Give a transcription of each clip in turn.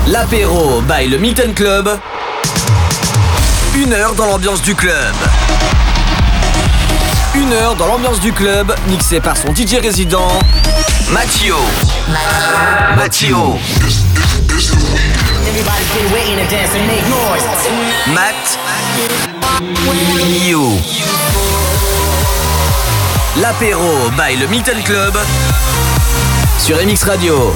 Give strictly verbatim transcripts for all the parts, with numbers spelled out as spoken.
L'apéro by le Milton Club. Une heure dans l'ambiance du club. Une heure dans l'ambiance du club, mixé par son D J résident, Mattio. Mattio. Matt. You. L'apéro by le Milton Club sur M X Radio.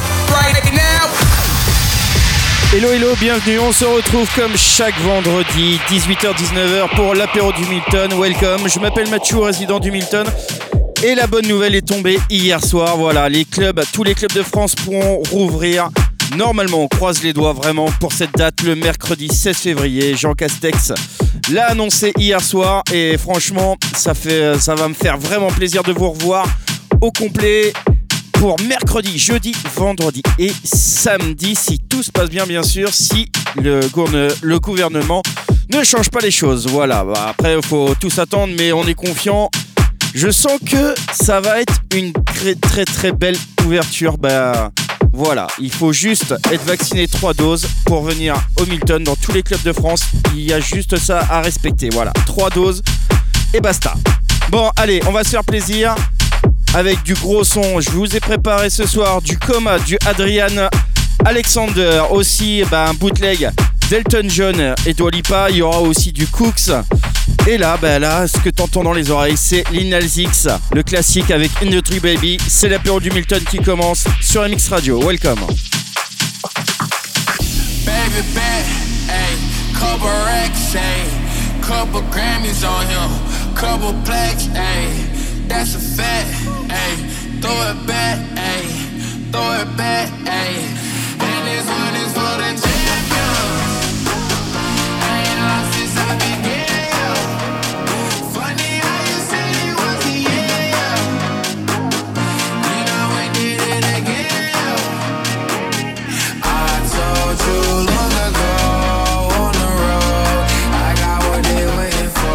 Hello hello, bienvenue, on se retrouve comme chaque vendredi, dix-huit heures dix-neuf heures pour l'apéro du Milton, welcome, je m'appelle Mathieu, résident du Milton, et la bonne nouvelle est tombée hier soir, voilà, les clubs, tous les clubs de France pourront rouvrir, normalement on croise les doigts vraiment pour cette date, le mercredi seize février, Jean Castex l'a annoncé hier soir, et franchement, ça, fait, ça va me faire vraiment plaisir de vous revoir au complet, pour mercredi, jeudi, vendredi et samedi, si tout se passe bien, bien sûr, si le, gourne, le gouvernement ne change pas les choses. Voilà, bah après, il faut tous attendre, mais on est confiant. Je sens que ça va être une très, très, très belle ouverture. Bah, voilà, il faut juste être vacciné trois doses pour venir au Milton dans tous les clubs de France. Il y a juste ça à respecter. Voilà, trois doses et basta. Bon, allez, on va se faire plaisir. Avec du gros son, je vous ai préparé ce soir du Coma, du Adrian Alexander, aussi bah, un bootleg d'Elton John et Dua Lipa, il y aura aussi du Cooks. Et là, bah, là, ce que t'entends dans les oreilles, c'est Lil Nas X, le classique avec Industry Baby. C'est l'apéro du Milton qui commence sur M X Radio. Welcome. Baby bad, ayy, couple racks, ayy, couple Grammys on him, couple plaques, ayy. That's a fact, ayy. Throw it back, ayy. Throw it back, ayy. And this one is for the champions. I ain't lost since I began. Funny how you said it was the yeah. You know we did it again. I told you long ago on the road, I got what they waiting for.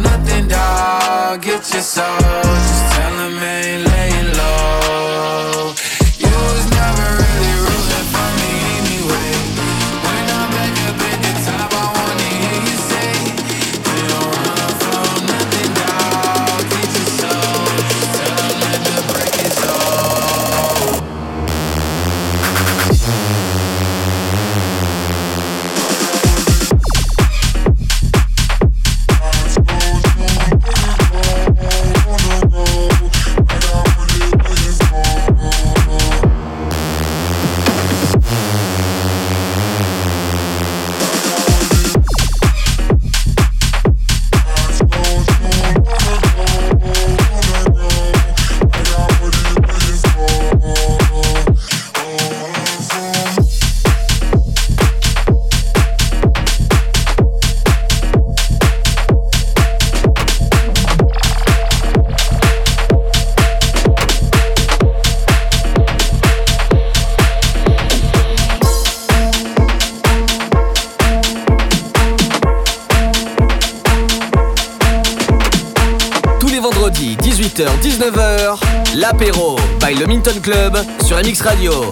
Get your soul, just tell him ain't laying low. L'apéro by le Minton Club sur M X Radio.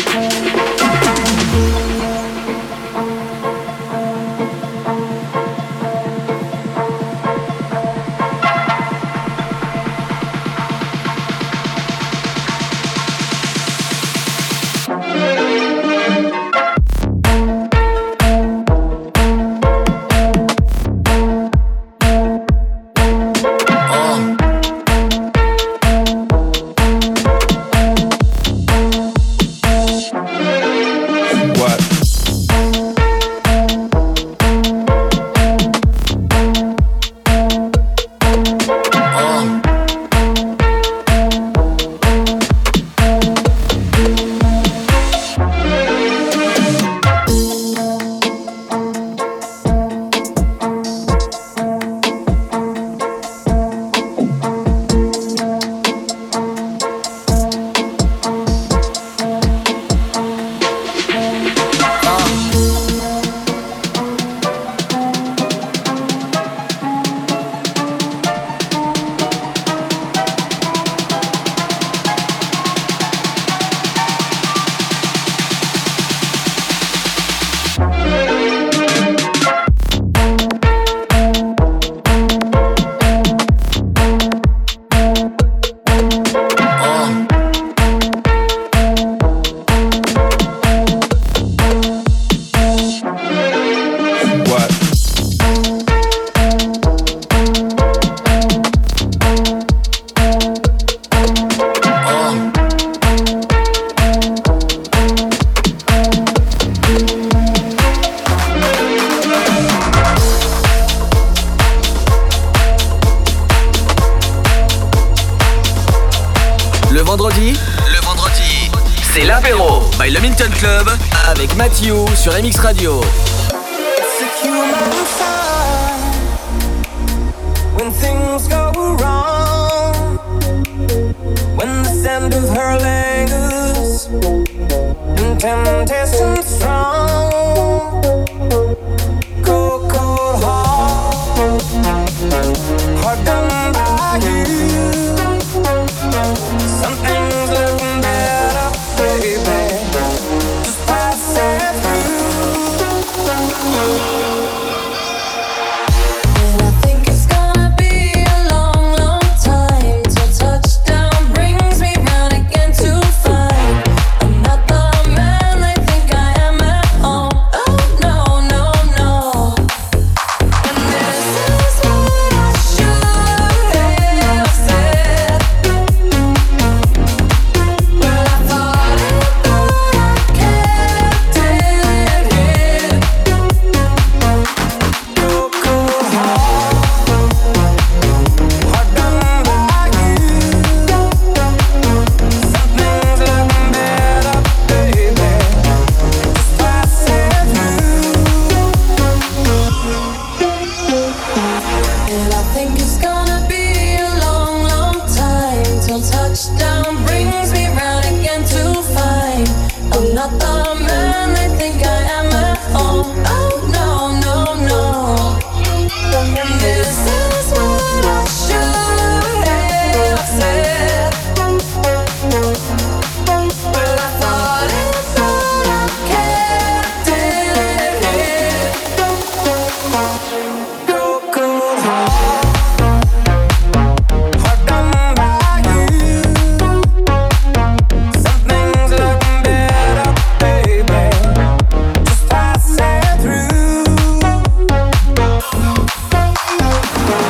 Avec Mathieu sur M X Radio. When things go wrong, when the scent of her lingers, and temptation strong, cold, cold heart, heart done by you. Something's looking better, baby. And I think it's gonna be a long, long time till touchdown brings me round again to find I'm not the man they think I am at home. Oh no, no, no. And this is what I should have said. Well, I thought it, but I kept it here. Cold, cold heart, heart done by you. Something's looking better, baby. Just pass it through. And I think it's gonna be a long, long time till touchdown brings me round again to find I'm not the man they think I am at home. Oh no, no, no. And this is what I should have said. Well, I thought it, but I kept it here. Cold, cold heart, heart done by you. Something's looking better, baby. Just pass it through.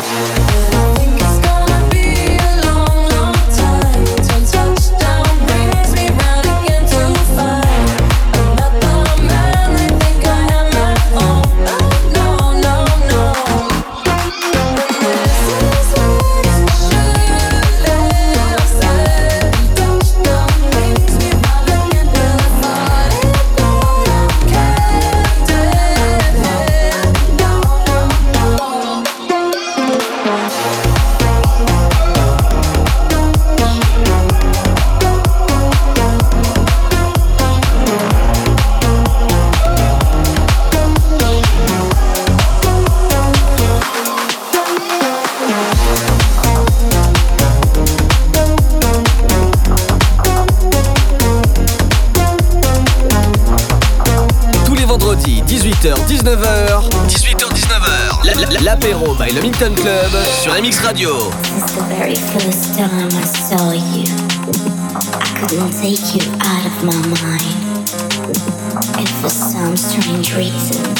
dix-huit heures dix-neuf heures. dix-huit heures dix-neuf heures. La- la- L'apéro by le Milton Club sur M X Radio. Since the very first time I saw you, I couldn't take you out of my mind. And for some strange reasons,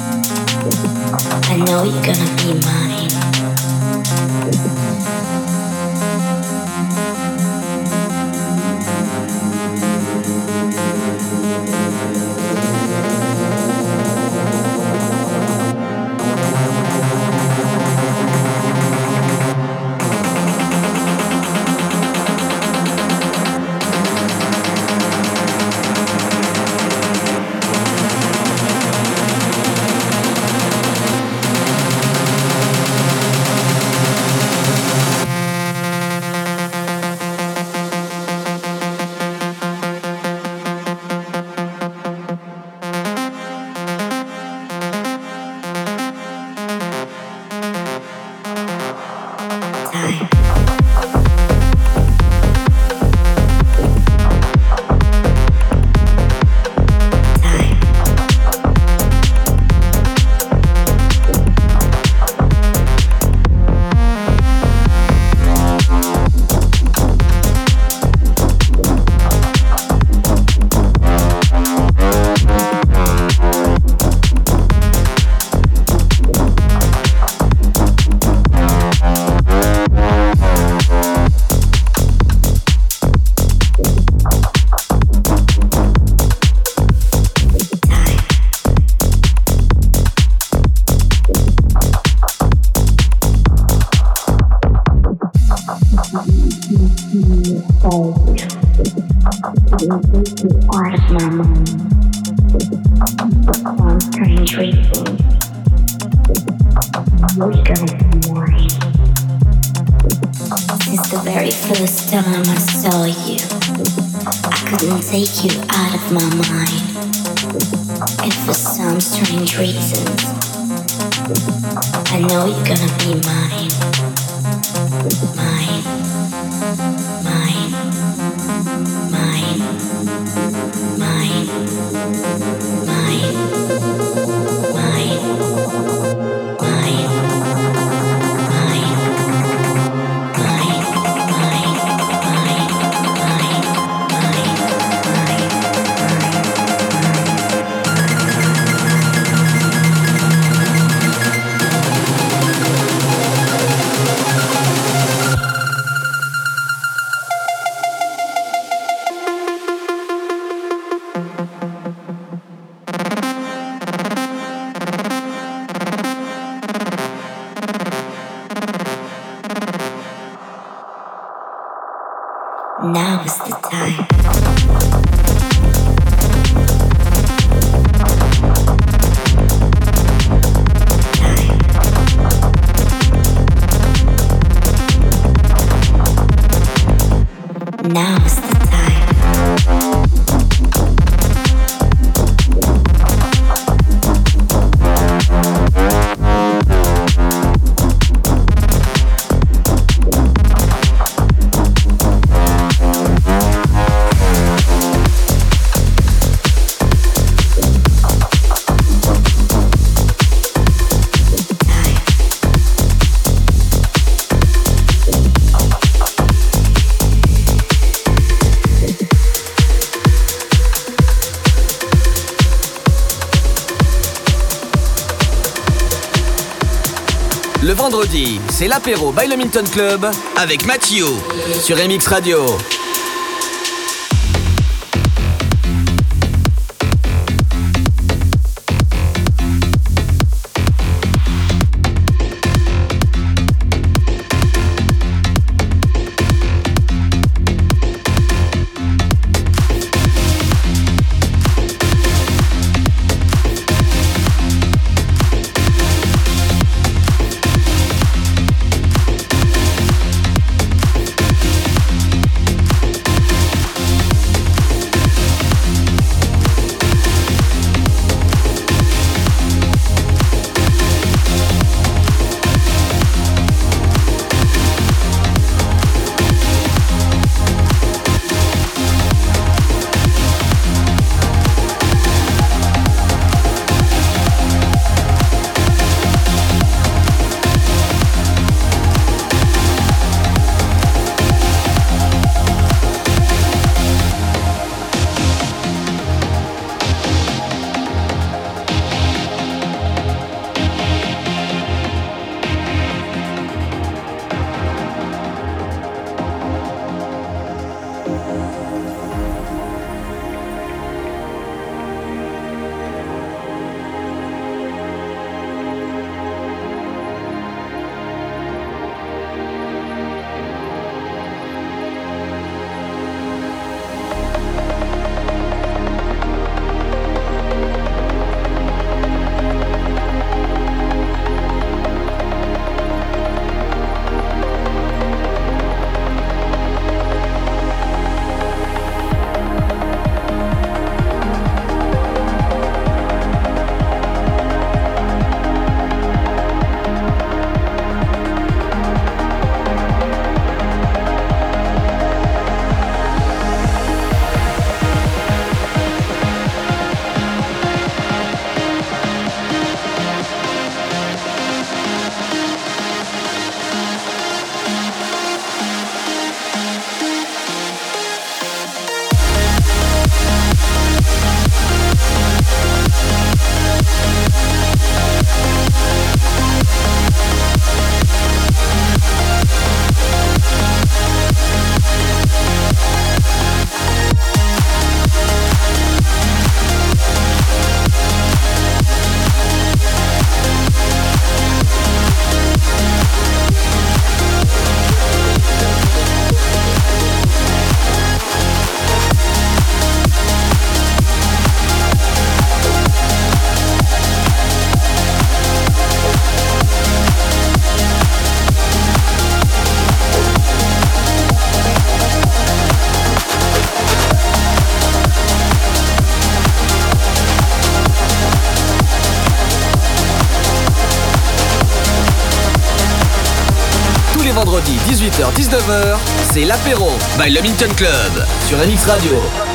I know you're gonna be mine. Take you out of my mind, and for some strange reasons, I know you're gonna be mine, mine, mine, mine, mine, mine, mine, mine, mine, mine, mine, mine, mine. Now is the time. Now is the time. Le vendredi, c'est l'apéro by le Milton Club avec Mathieu sur M X Radio. vendredi dix-huit heures dix-neuf heures, c'est l'apéro by le Minton Club sur M X Radio.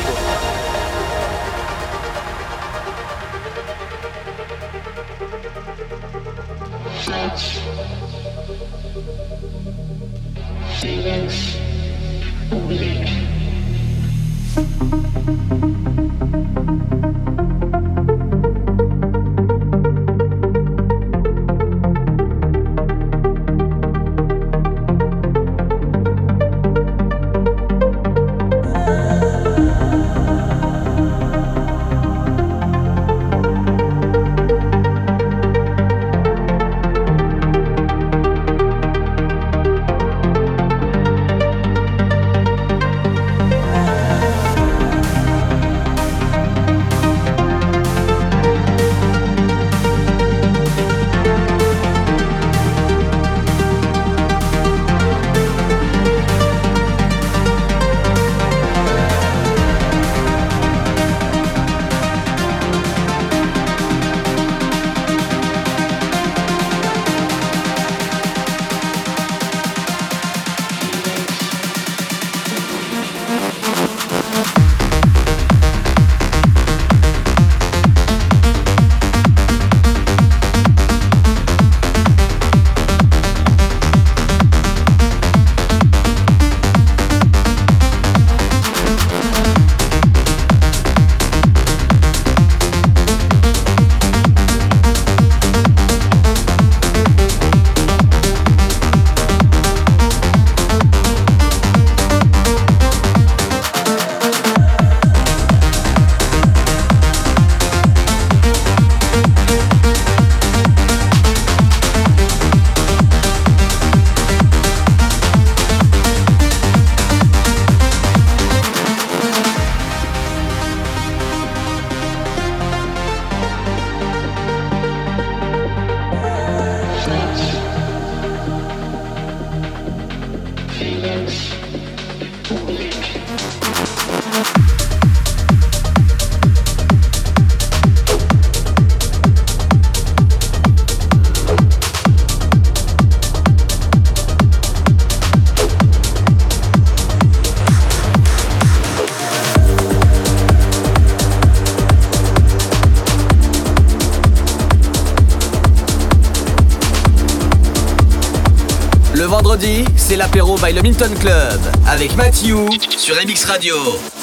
Vendredi, c'est l'apéro by le Minton Club avec Mathieu sur M X Radio.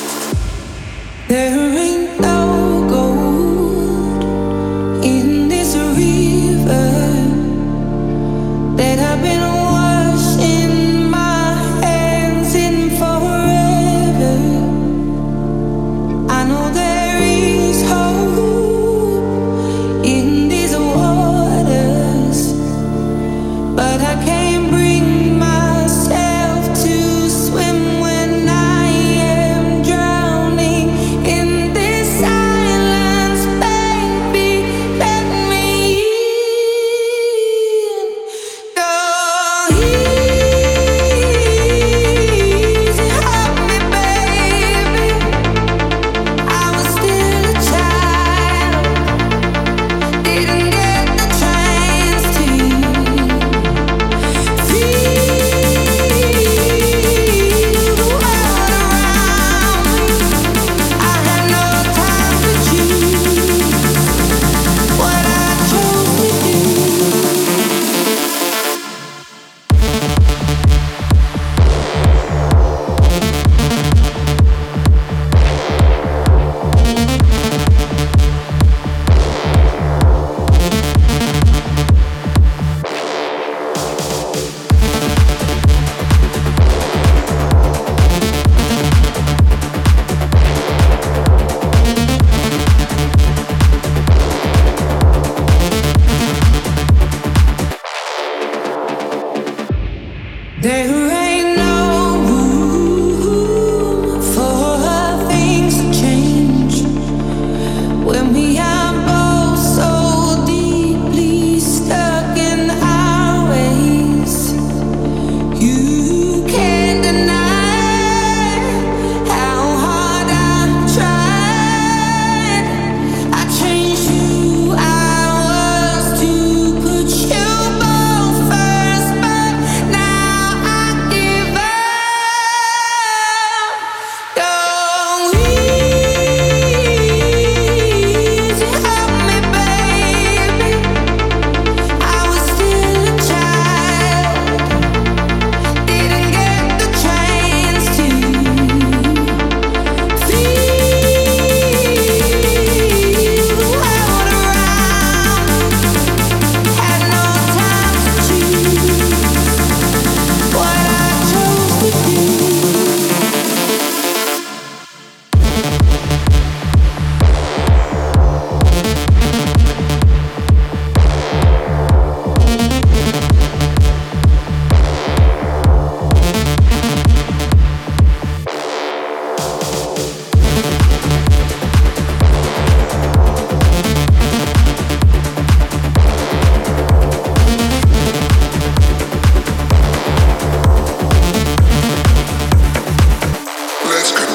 There ain't no gold in this river that I've been washing my hands in forever.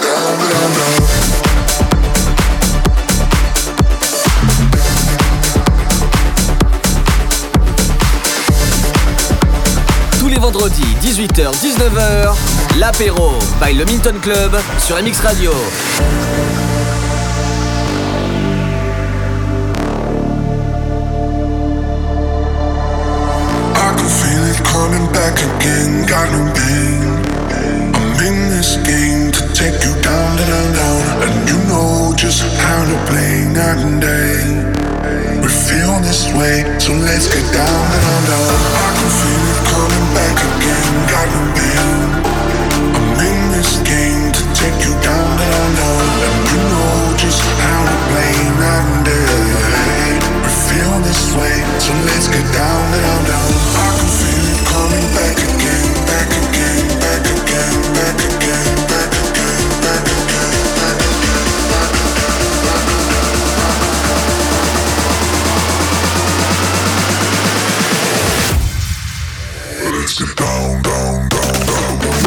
Tous les vendredis, dix-huit heures dix-neuf heures, l'apéro by le Milton Club sur M X Radio. Coming back again, got no pain. I'm in this game to take you down, down, down. And you know just how to play night and day. We feel this way, so let's get down, down, down. I can feel it coming back again, got no pain. I'm in this game to take you down, down, down. And you know just how to play night and day. We feel this way, so let's get down, down, down. I can feel it coming back again, back again, back again, back again, back again, back again, back again. Let's get down, down, down, down, down.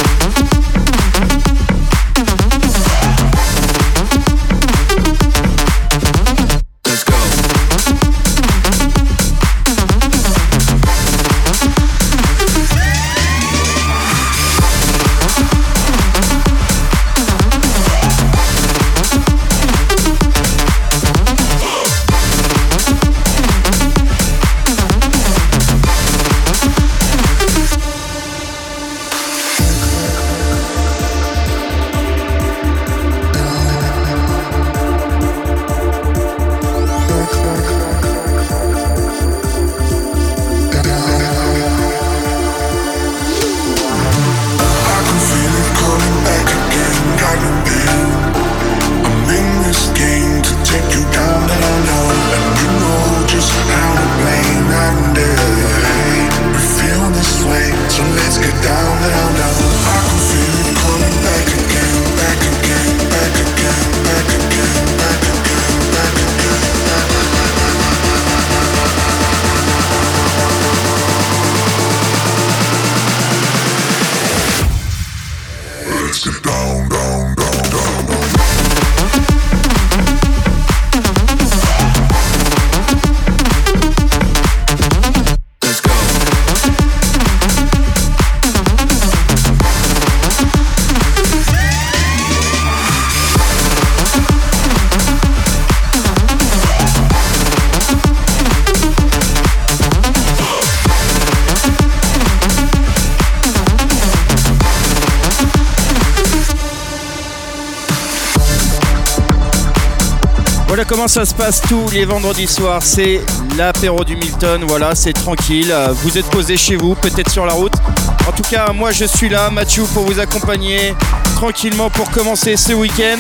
Voilà comment ça se passe tous les vendredis soirs, c'est l'apéro du Milton, voilà, c'est tranquille, vous êtes posé chez vous, peut-être sur la route. En tout cas, moi je suis là, Mathieu, pour vous accompagner tranquillement pour commencer ce week-end.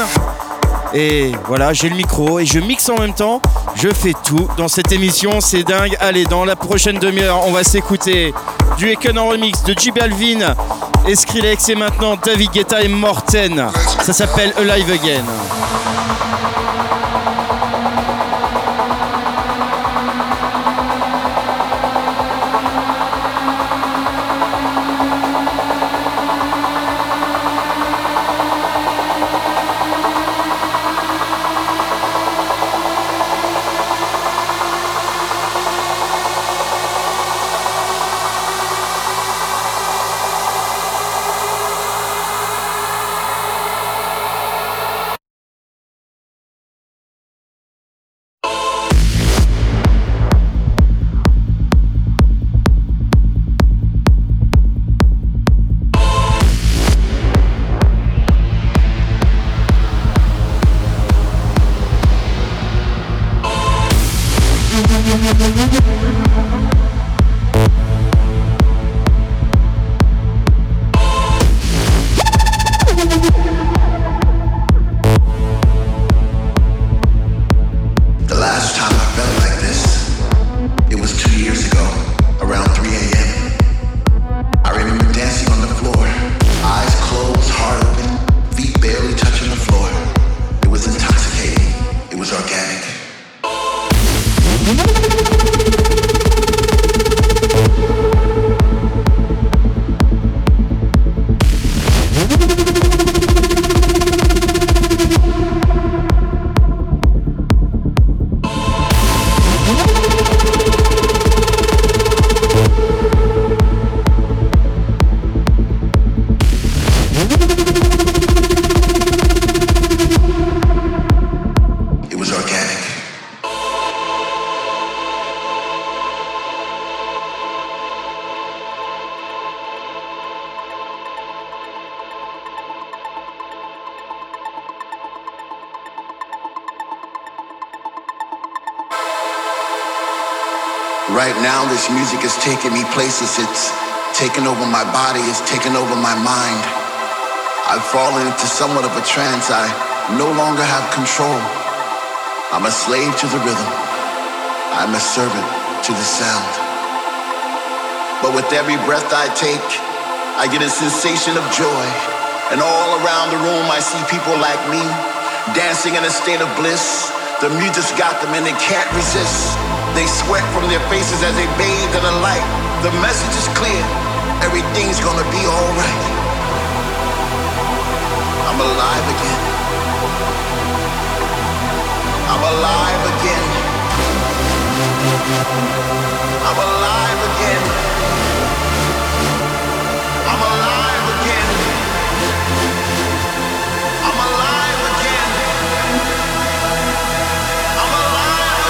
Et voilà, j'ai le micro et je mixe en même temps, je fais tout dans cette émission, c'est dingue. Allez, dans la prochaine demi-heure, on va s'écouter du Eken en remix de J Balvin et Skrillex et maintenant David Guetta et Morten. Ça s'appelle Alive Again. Right now, this music is taking me places. It's taking over my body. It's taking over my mind. I've fallen into somewhat of a trance. I no longer have control. I'm a slave to the rhythm. I'm a servant to the sound. But with every breath I take, I get a sensation of joy. And all around the room, I see people like me, dancing in a state of bliss. The music's got them and they can't resist. They sweat from their faces as they bathe in the light. The message is clear. Everything's gonna be alright. I'm alive again. I'm alive again. I'm alive again. I'm alive again. I'm alive again. I'm alive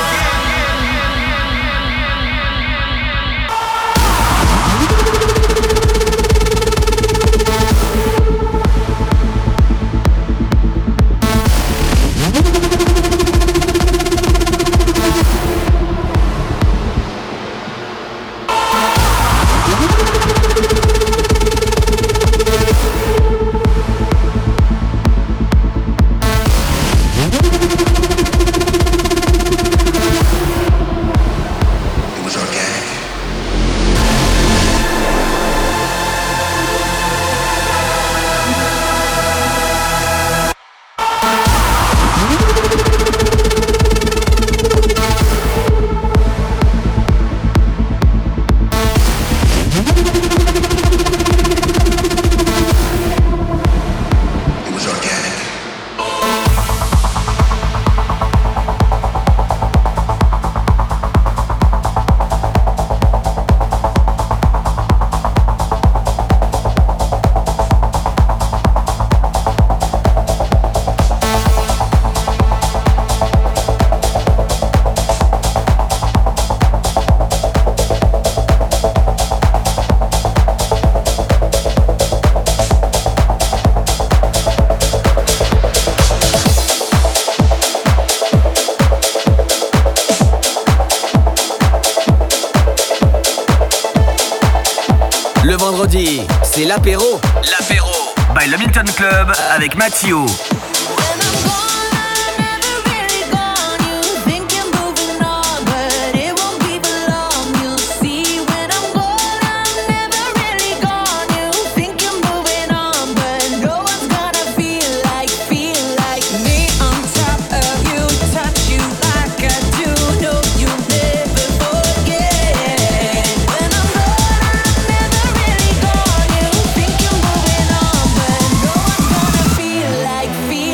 Le vendredi, c'est l'apéro. L'apéro by le Milton Club avec Mathieu. Feel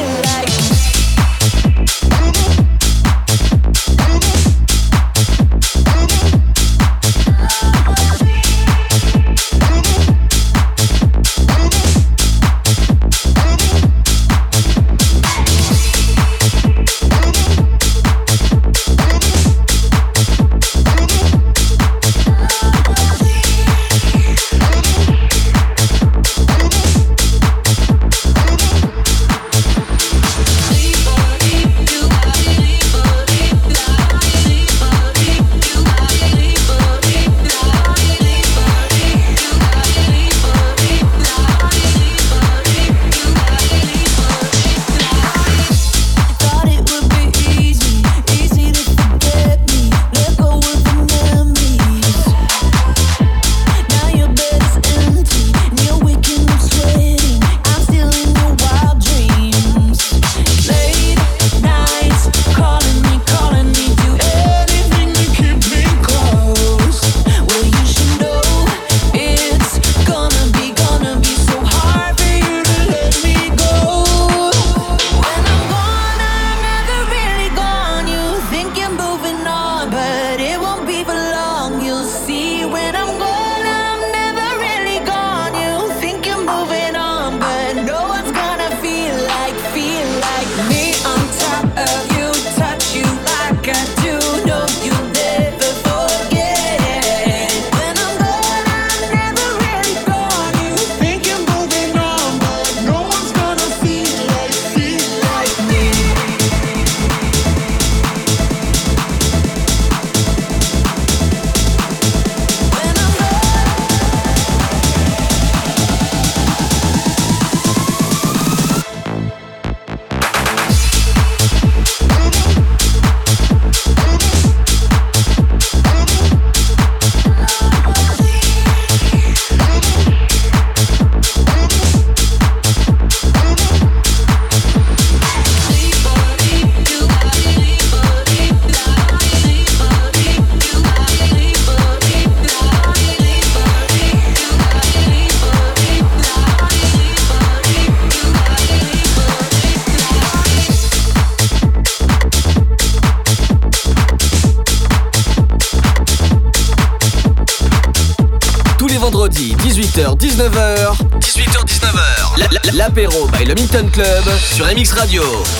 heures dix-neuf heures. dix-huit heures dix-neuf heures. La- la- L'apéro by le Milton Club sur M X Radio.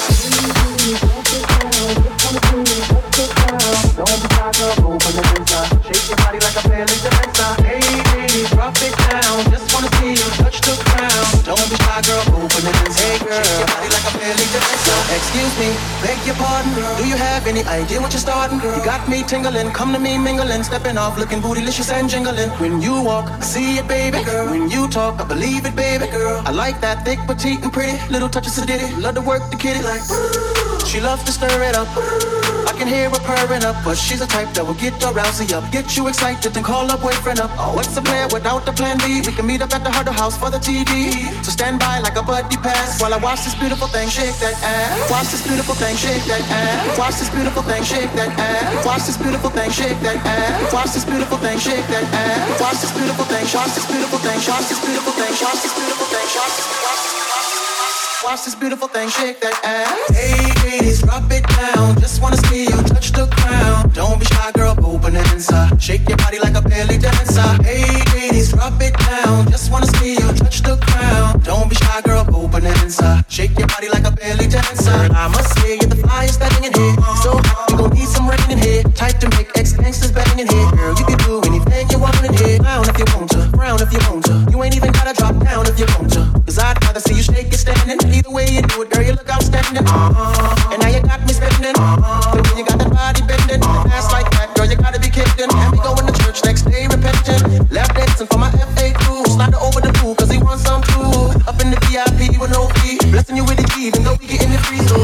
Don't be shy, girl, open the inside. Shake your body like a belly dancer. Hey, ladies, drop it down. Just wanna see you touch the ground. Don't be shy, girl, open the inside. Hey, girl, shake your body like a belly dancer. Excuse me, beg your pardon, girl. Do you have any idea what you're starting, girl? You got me tingling, come to me mingling, stepping off, looking bootylicious and jingling. When you walk, I see it, baby girl. When you talk, I believe it, baby girl. I like that thick, petite, and pretty. Little touches of ditty, love to work the kitty like. She loves to stir it up. I can hear her purring up, but she's a type that will get your rousey up, get you excited, then call her boyfriend up. Oh, what's the plan without the plan B? We can meet up at the Huddle House for the T V. So stand by like a buddy pass while I watch this beautiful thing shake that ass. Watch this beautiful thing shake that ass. Watch this beautiful thing shake that ass. Watch this beautiful thing shake that ass. Watch this beautiful thing shake that ass. Watch this beautiful thing. Watch this beautiful thing. Watch this beautiful thing. Watch this beautiful thing. Watch this. Watch this. Watch this beautiful thing shake that ass. Hey, ladies, drop it down. Just wanna see you touch the ground. Don't be shy, girl, go bonanza. Shake your body like a belly dancer. Hey, ladies, drop it down. Just wanna see you touch the ground. Don't be shy, girl, go bonanza. Shake your body like a belly dancer. And I must say, you're the flyest thing in here. So you gon' need some rain in here. Type to make ex-gangsters bang in here. Girl, you can do anything you want in here. Down if you want to, frown if you want to. You ain't even gotta drop down if you want to. Cause I'd rather see you shake it standing. Either way you do it, girl, you look outstanding. Uh-huh. And now you got me spending. Uh-huh. The way you got that body bending. An ass like that, girl, you gotta be kidding. And we going to church next day repenting. Lap dancing for my F A Q. Slide her over the pool, cause he wants some too. Up in the V I P with no fee. Blessing you with the key, even though we getting it free. So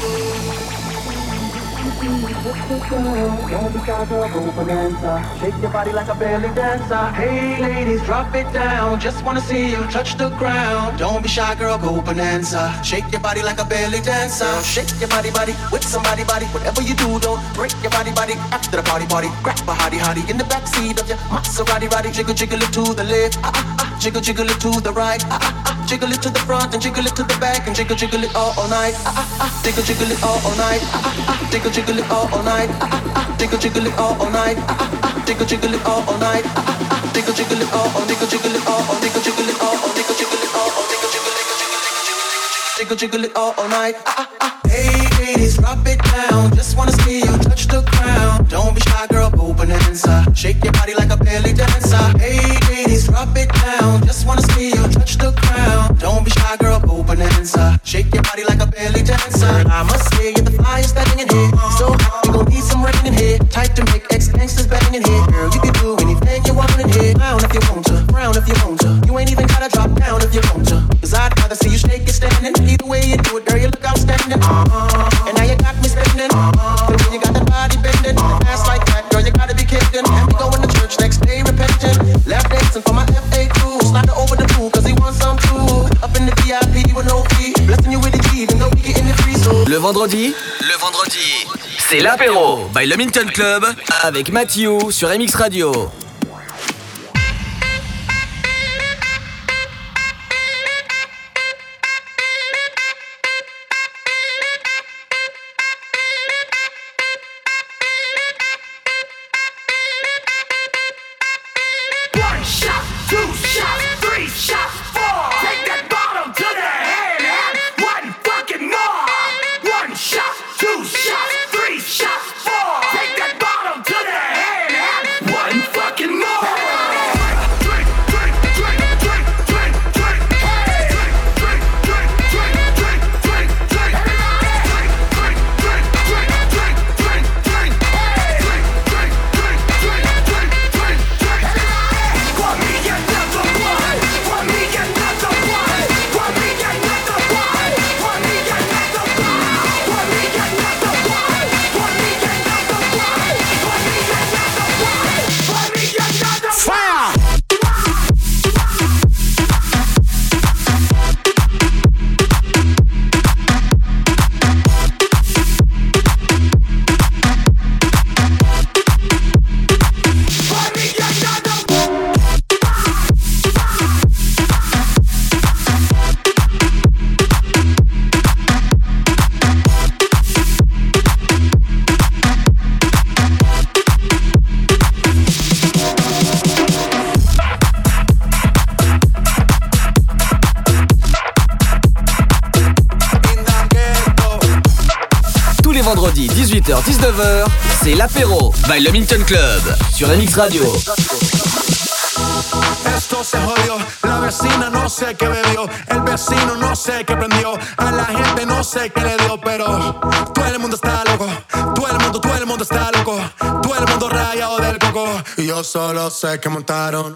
don't be shy, girl, go bonanza. Shake your body like a belly dancer. Hey, ladies, drop it down. Just wanna see you touch the ground. Don't be shy, girl, go bonanza. Shake your body like a belly dancer. Shake your body, body with somebody, body. Whatever you do, don't break your body, body. After the party, party, grab a hottie, hottie in the backseat of your Maserati, roddy. Jiggle, jiggle it to the left, ah, ah, ah. Jiggle, jiggle it to the right, ah, ah, ah. Jiggle it to the front and jiggle it to the back and jiggle, jiggle it all, all night, ah, ah, ah. Jiggle, jiggle it all, all night, ah, ah, ah. Jiggle, jiggle it all, all night. Jiggle jiggle it all all night. Jiggle jiggle it all all night. Jiggle jiggle it all all jiggle jiggle it all all jiggle jiggle it all all jiggle jiggle it all all jiggle jiggle it jiggle jiggle it all all night. Hey ladies, drop it down. Just wanna see you touch the ground. Don't be shy, girl, go bonanza. Shake your body like a belly dancer. Hey ladies, drop it down. Just wanna see you touch the ground. Don't be shy, girl, go bonanza. Shake your body like a belly dancer. And I must say you're the flyest thing in here. So you gon' need some rain in here. Type to make ex-gangsters bang in here. Girl, you can do anything you want in here. Down if you want to, frown if you want to. You ain't even gotta drop down if you want to. Cause I'd rather see you shake it standing. Either way you do it, girl, you look outstanding. Uh-huh. And now you got me spending. Uh-huh. The way you got that body bending. An ass like that, girl, you gotta be kidding. And we going to church next day repenting. Lap dancing for my F A Q. Slide her over the pool cause he wants some too. Up in the V I P with no fee. Blessing you with the key, even though we getting it free. So le vendredi, le vendredi, c'est l'apéro by le Milton Club avec Mathieu sur M X Radio. Fucking vendredi dix-huit heures dix-neuf heures, c'est l'apéro by Le Minton Club sur M X Radio. Esto se jodió, la vecina no sé qué bebió, el vecino no sé qué prendió, a la gente no sé qué le dio, pero todo el mundo está loco, todo el mundo, todo el mundo está loco, todo el mundo rayado del coco, y yo solo sé que montaron.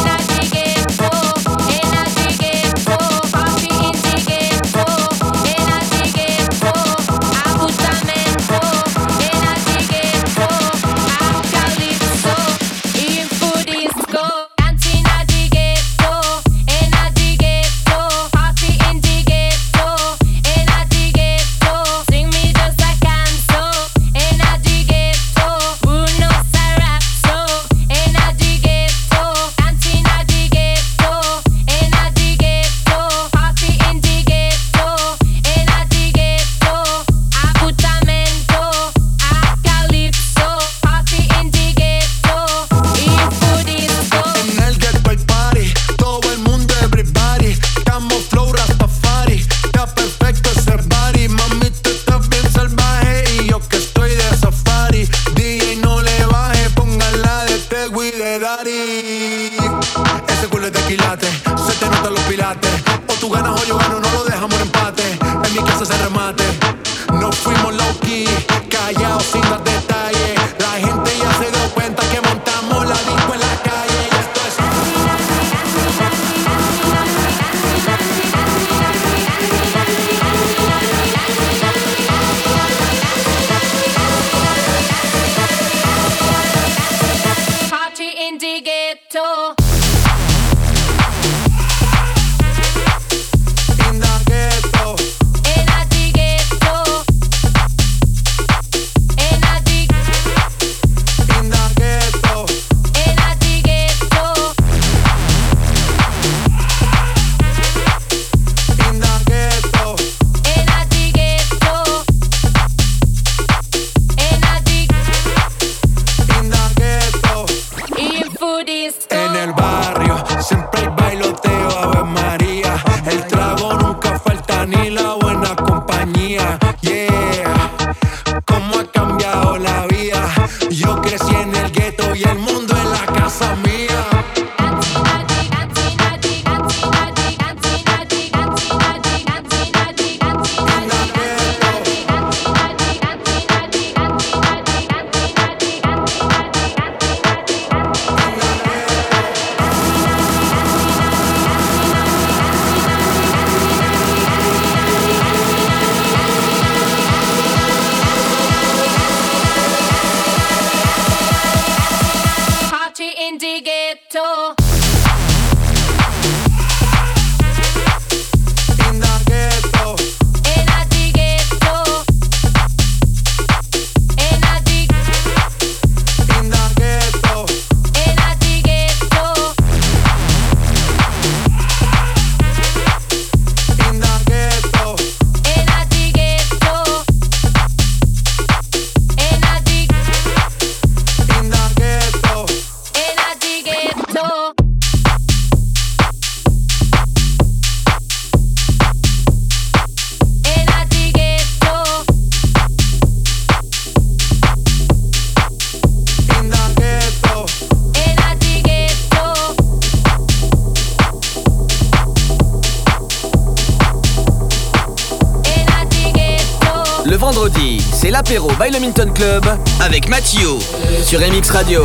Vendredi, c'est l'apéro by Le Minton Club avec Mathieu sur M X Radio.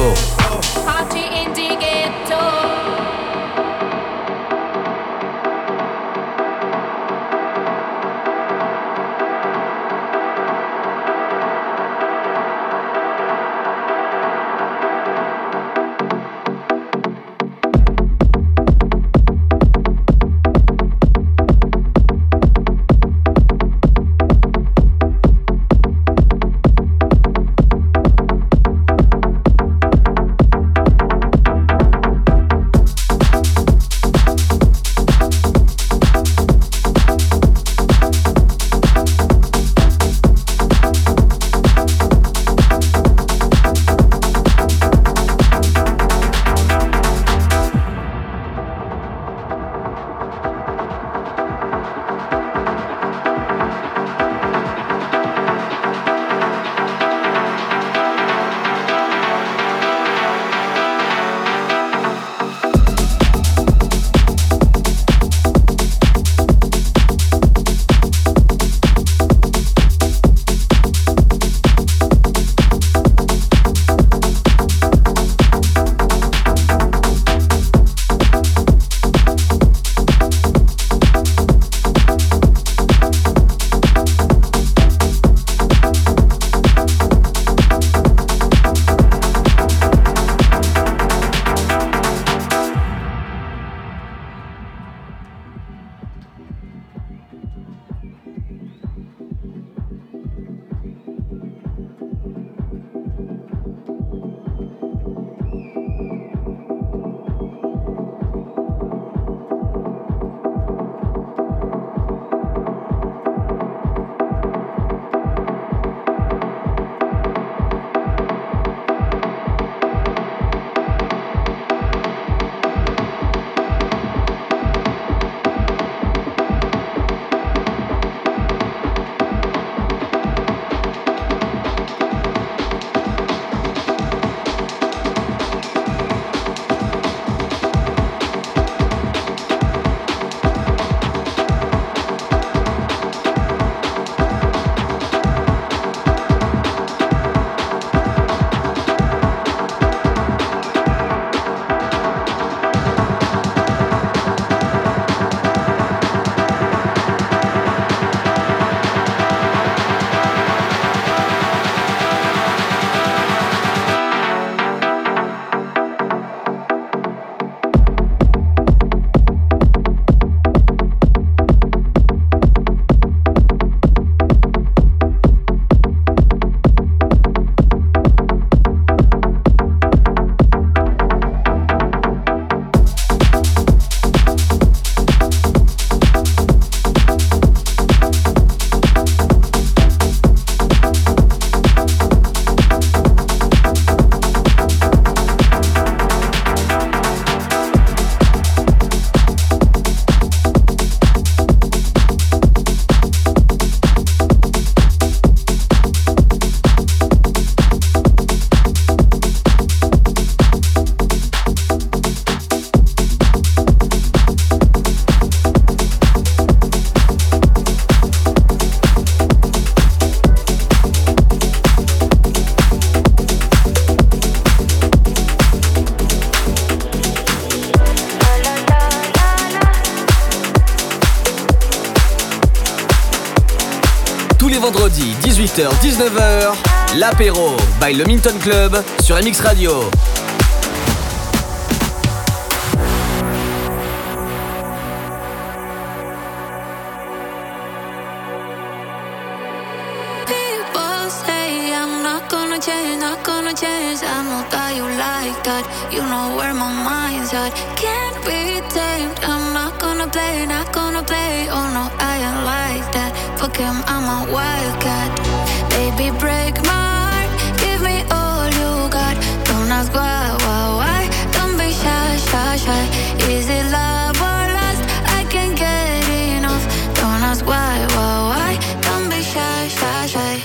tous les vendredis, dix-huit heures dix-neuf heures, l'apéro by le Minton Club sur M X Radio. Change, not gonna change. I know that you like that. You know where my mind's at. Can't be tamed. I'm not gonna play, not gonna play. Oh no, I ain't like that. Fuck him, I'm a wildcat. Baby, break my heart. Give me all you got. Don't ask why, why, why. Don't be shy, shy, shy. Is it love or lust? I can't get enough. Don't ask why, why, why. Don't be shy, shy, shy.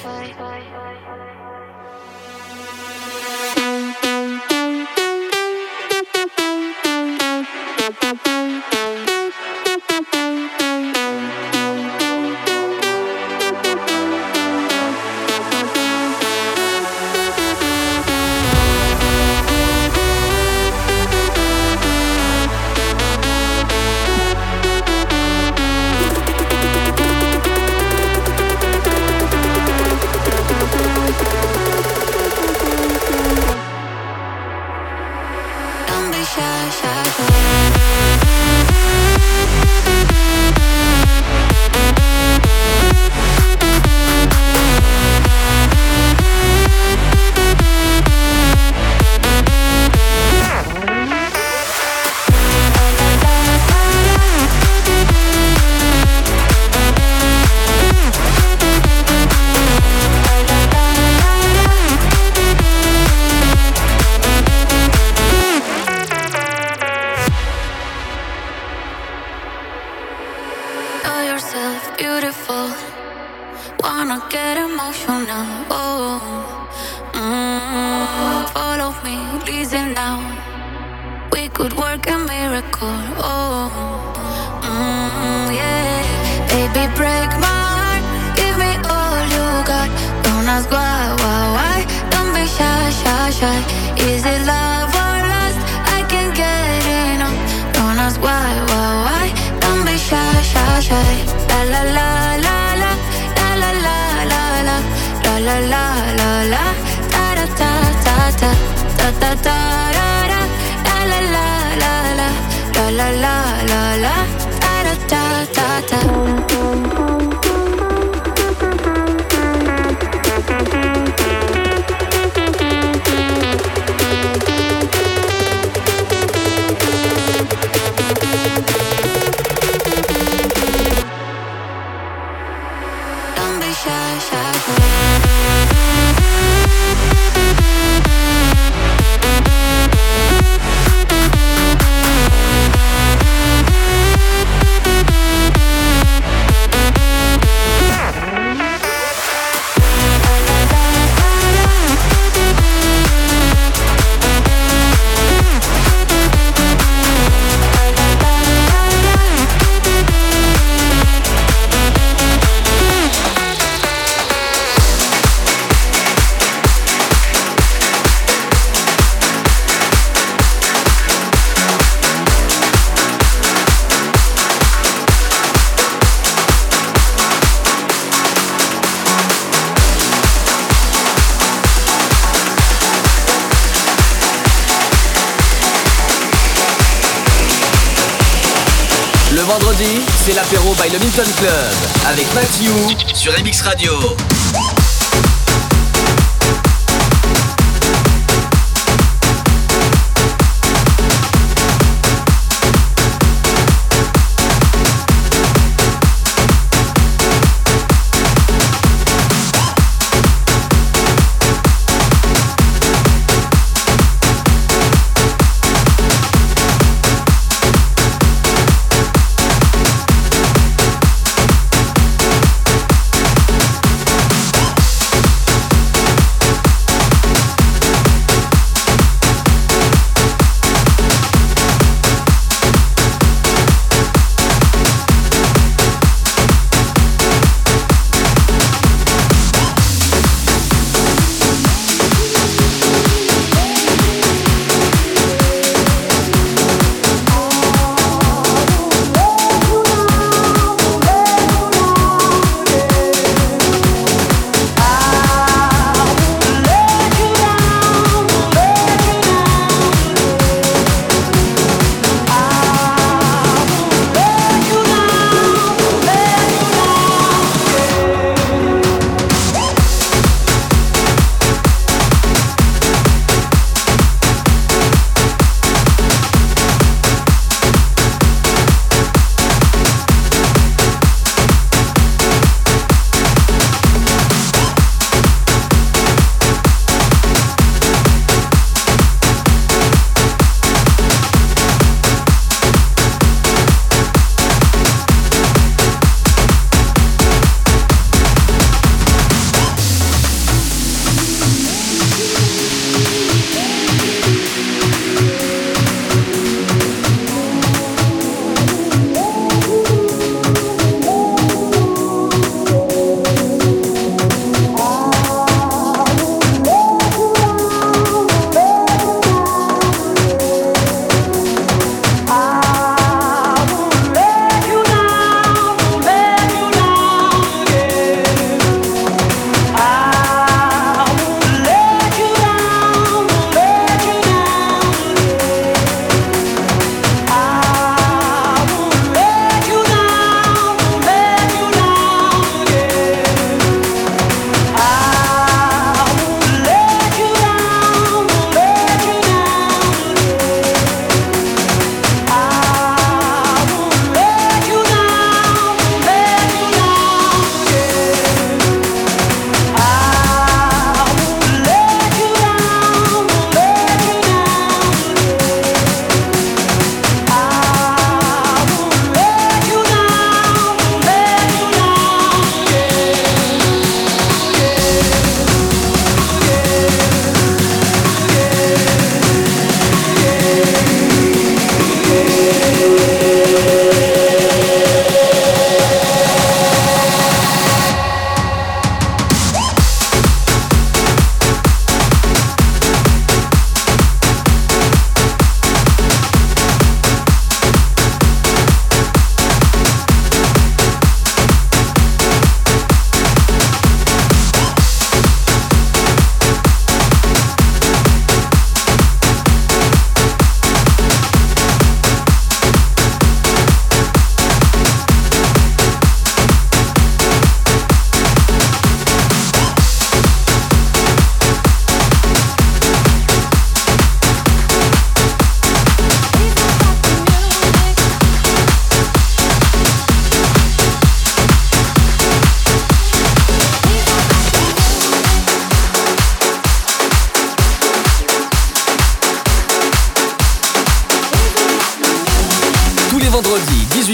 C'est l'apéro by le Minton Club avec Mathieu sur M X Radio.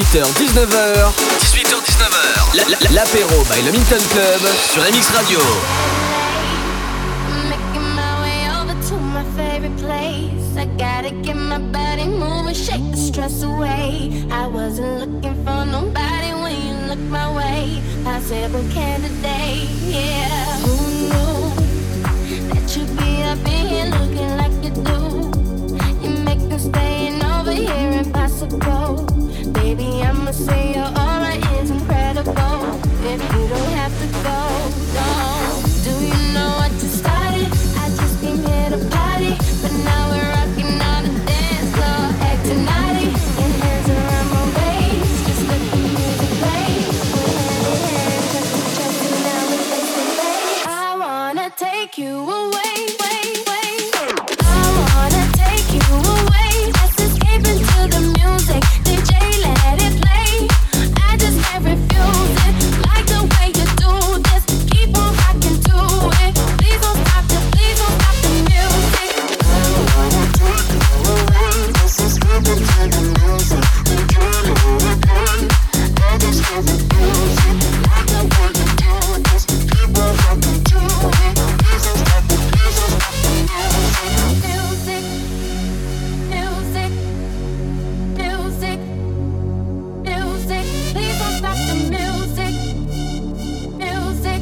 dix-huit heures dix-neuf heures. dix-huit heures dix-neuf heures. La, la, l'apéro by le Milton Club sur M X Radio. Making my way over to my favorite place. I gotta get my body moving, shake the stress away. I wasn't looking for nobody when you looked my way. Possible candidate, yeah. Who knew that you'd be up in here looking like you do? You make me staying over here impossible. Baby, I'ma say your aura is incredible. If you don't have to go, no. Do you know what you started? I just came here to party, but now we're rocking on the dance floor, acting naughty. Your hands around my waist, just let the music play. We're hand in hand, chest to chest, and now we're face to face. I wanna take you away, way, way. I wanna take you away. Let's escape into the music. D J, let it play. I just can't refuse it. Like the way you do this. Keep on rocking to it. Please don't stop the, please don't stop the music. I wanna take you away. Let's escape into the music. D J, let it play. I just can't refuse it. Like the way you do this. Keep on rocking to it. Please don't stop the, please don't stop the music. Music, music, music, music. Please don't stop the music. Music,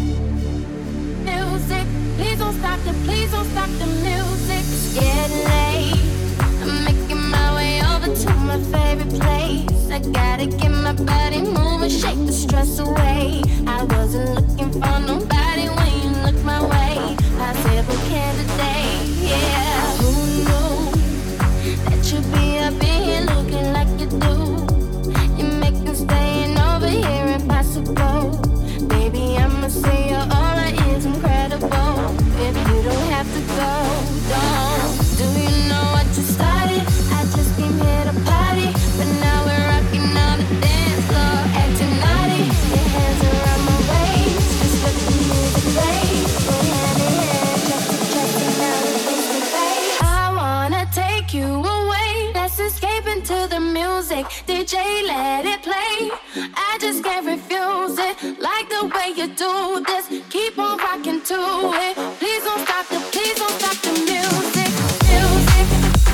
music. Please don't stop the, please don't stop the music. It's getting late. I'm making my way over to my favorite place. I gotta get my body moving, shake the stress away. I wasn't looking for nobody when you looked my way. Possible candidate, yeah. Who knew that you'd be up in here looking like you do? You make me staying over here impossible. Baby, I'ma say your aura is incredible. If you don't have to go, don't. Do you know what you started? I just came here to party, but now we're rocking on the dance floor, acting naughty. Your hands around my waist, just let the music play. We're hand in hand, chest to chest, and now we're face to face. I wanna take you away. Let's escape into the music. D J, let it play. I just can't refuse it. Like the way you do this. Keep on rocking to it. Please don't stop the, please don't stop the music. Music,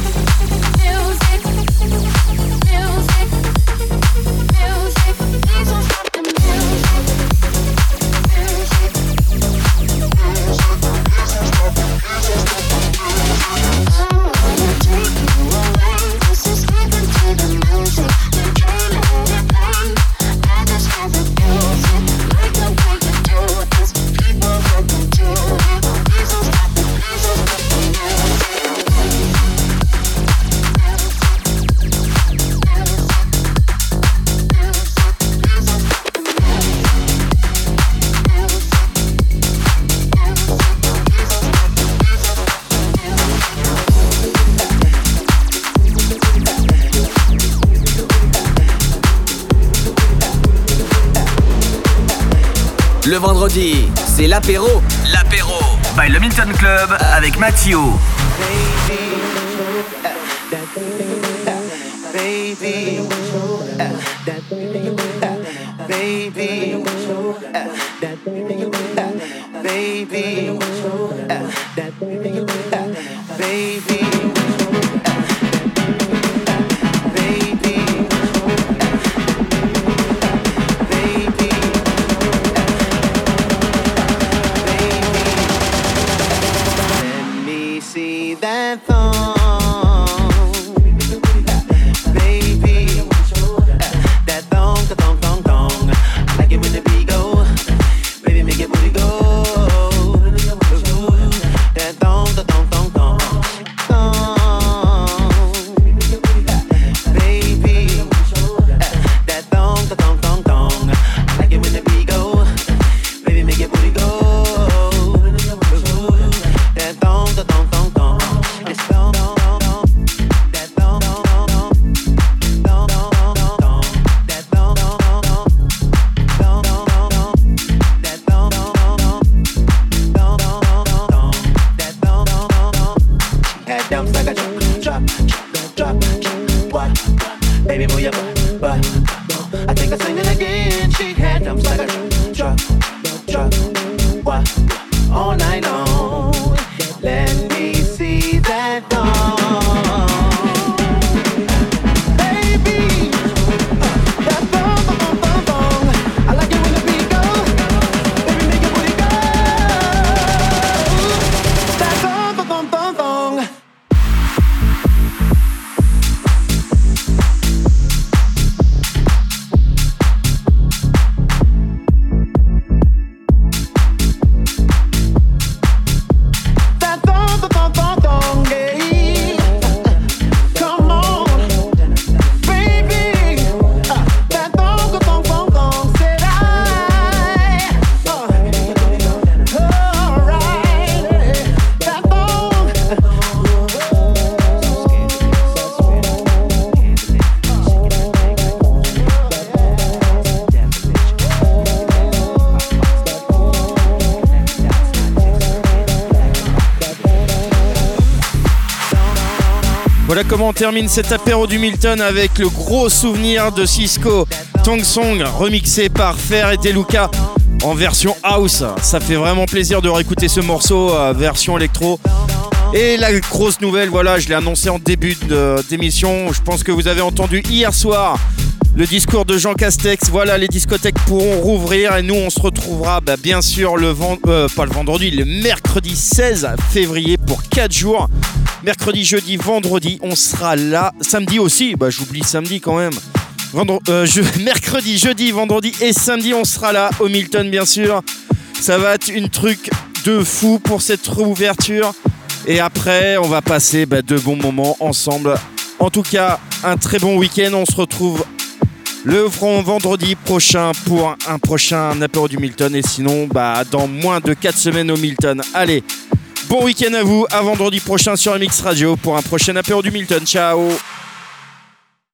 music, music, music. Please don't stop the music. Music, music, please don't stop the, please don't stop the music. I wanna take you away. Let's escape into the music. D J, let it play. I just can't refuse it. Like the way you do this. Keep on rocking to it. Please don't stop the, please don't stop the music. Le vendredi, c'est l'apéro. L'apéro by le Milton Club avec Mathieu. Baby, baby, baby, baby. That thong, baby, that thong, that thong, thong, thong. I like it when the beat go, baby, make it booty go. That thong, What? All night long. Let me see that thong. Baby, uh, that thong, thong, thong, thong. I like it when the beat goes. Baby, make your booty go. That thong, thong, thong, thong. Voilà comment on termine cet apéro du Milton avec le gros souvenir de Cisco, Tong Song, remixé par Fer et Deluca en version house. Ça fait vraiment plaisir de réécouter ce morceau, euh, version électro. Et la grosse nouvelle, voilà, je l'ai annoncé en début de, d'émission, je pense que vous avez entendu hier soir le discours de Jean Castex. Voilà, les discothèques pourront rouvrir et nous on se retrouvera bah, bien sûr le vend- euh, pas le vendredi, le mercredi seize février pour quatre jours. Mercredi, jeudi, vendredi, on sera là. Samedi aussi, bah j'oublie samedi quand même. Vendredi, euh, je... Mercredi, jeudi, vendredi et samedi, on sera là au Milton bien sûr. Ça va être une truc de fou pour cette réouverture. Et après, on va passer bah, de bons moments ensemble. En tout cas, un très bon week-end. On se retrouve le vendredi prochain pour un prochain apéro du Milton. Et sinon, bah, dans moins de quatre semaines au Milton. Allez, bon week-end à vous. À vendredi prochain sur M X Radio pour un prochain apéro du Milton. Ciao.